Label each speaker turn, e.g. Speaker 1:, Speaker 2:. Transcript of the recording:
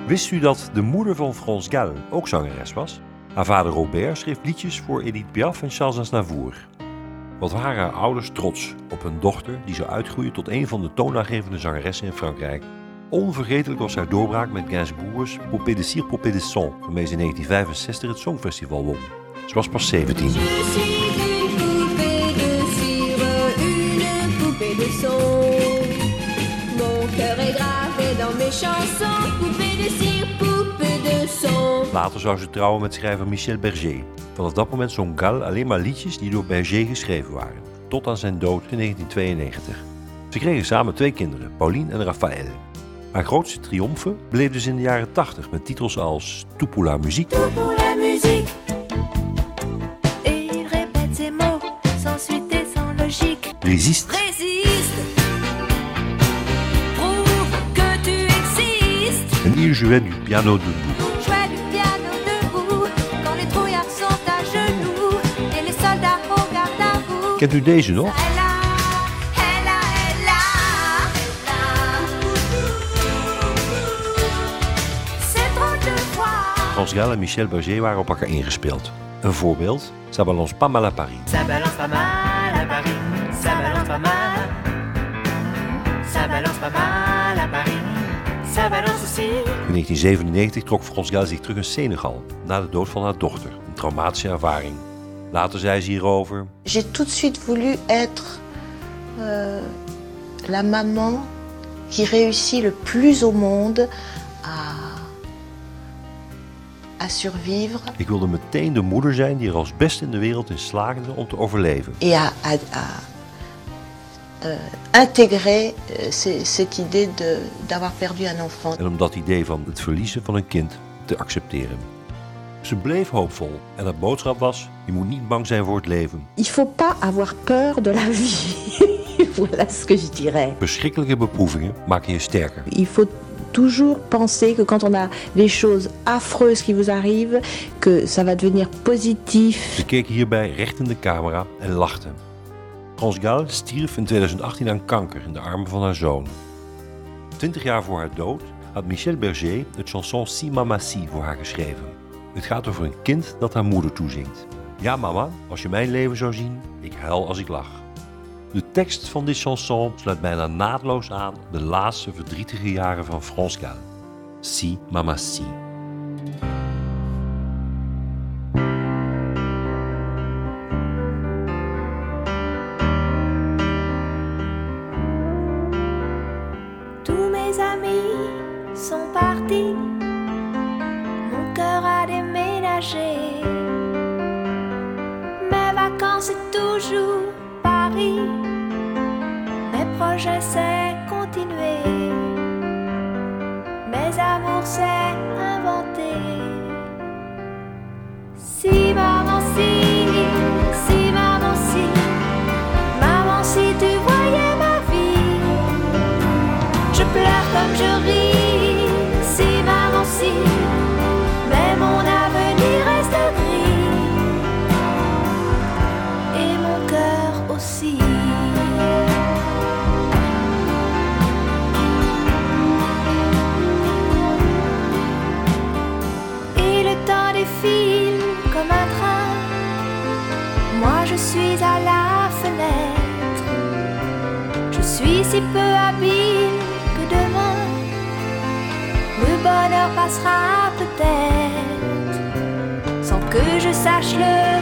Speaker 1: Wist u dat de moeder van France Gall ook zangeres was? Haar vader Robert schreef liedjes voor Edith Piaf en Charles Aznavour. Wat waren haar ouders trots op hun dochter die zou uitgroeien tot een van de toonaangevende zangeressen in Frankrijk. Onvergetelijk was haar doorbraak met Gainsbourg's Poupée de cire, Poupée de son, waarmee ze in 1965 het Songfestival won. Ze was pas 17. Later zou ze trouwen met schrijver Michel Berger. Vanaf dat moment zong Gall alleen maar liedjes die door Berger geschreven waren, tot aan zijn dood in 1992. Ze kregen samen 2 kinderen, Pauline en Raphaël. Haar grootste triomfen beleefde ze in de jaren 80 met titels als Tout pour la musique.
Speaker 2: Tout pour la musique. Et il répète ses mots sans suite et sans logique.
Speaker 1: Résiste.
Speaker 2: Résiste. Prouve que tu existes.
Speaker 1: En il jouait du piano debout.
Speaker 2: Jouais du piano debout quand les trouillards sont à genoux et les soldats au garde à vous.
Speaker 1: Kent u deze nog? France Gall en Michel Berger waren op elkaar ingespeeld. Een voorbeeld, Ça balance pas mal à Paris.
Speaker 3: Ça balance pas mal à Paris, ça balance pas mal. Ça balance pas mal à Paris, ça balance aussi.
Speaker 1: In 1997 trok France Gall zich terug in Senegal, na de dood van haar dochter. Een traumatische ervaring. Later zei ze hierover:
Speaker 4: J'ai tout de suite voulu être la maman qui réussit le plus au monde à survivre.
Speaker 1: Ik wilde meteen de moeder zijn die er als beste in de wereld in slaagde om te overleven.
Speaker 4: Et à intégrer cette idée d'avoir perdu un enfant.
Speaker 1: En om dat idee van het verliezen van een kind te accepteren. Ze bleef hoopvol en haar boodschap was: je moet niet bang zijn voor het leven.
Speaker 5: Il faut pas avoir peur de la vie. Voilà ce que je dirais.
Speaker 1: Verschrikkelijke beproevingen maken je sterker.
Speaker 5: Il faut toujours penser que quand on a des choses affreuses qui vous arrivent, que ça va devenir positif.
Speaker 1: Ze keek hierbij recht in de camera en lachte. France Gall stierf in 2018 aan kanker in de armen van haar zoon. 20 jaar voor haar dood had Michel Berger het chanson Si Mama Si voor haar geschreven. Het gaat over een kind dat haar moeder toezingt. Ja mama, als je mijn leven zou zien, ik huil als ik lach. De tekst van dit chanson sluit bijna naadloos aan op de laatste verdrietige jaren van France Gall. Si Mama Si.
Speaker 2: Tous mes amis sont partis, mon cœur a déménagé. Mes vacances c'est toujours Paris, mes projets c'est continuer, mes amours c'est inventer. Si maman si, si maman si, maman si tu voyais ma vie, je pleure comme je ris. Si maman si, mais mon avenir reste gris et mon cœur aussi. Et le temps défile comme un train, moi je suis à la fenêtre, je suis si peu habile que demain le bonheur passera peut-être sans que je sache le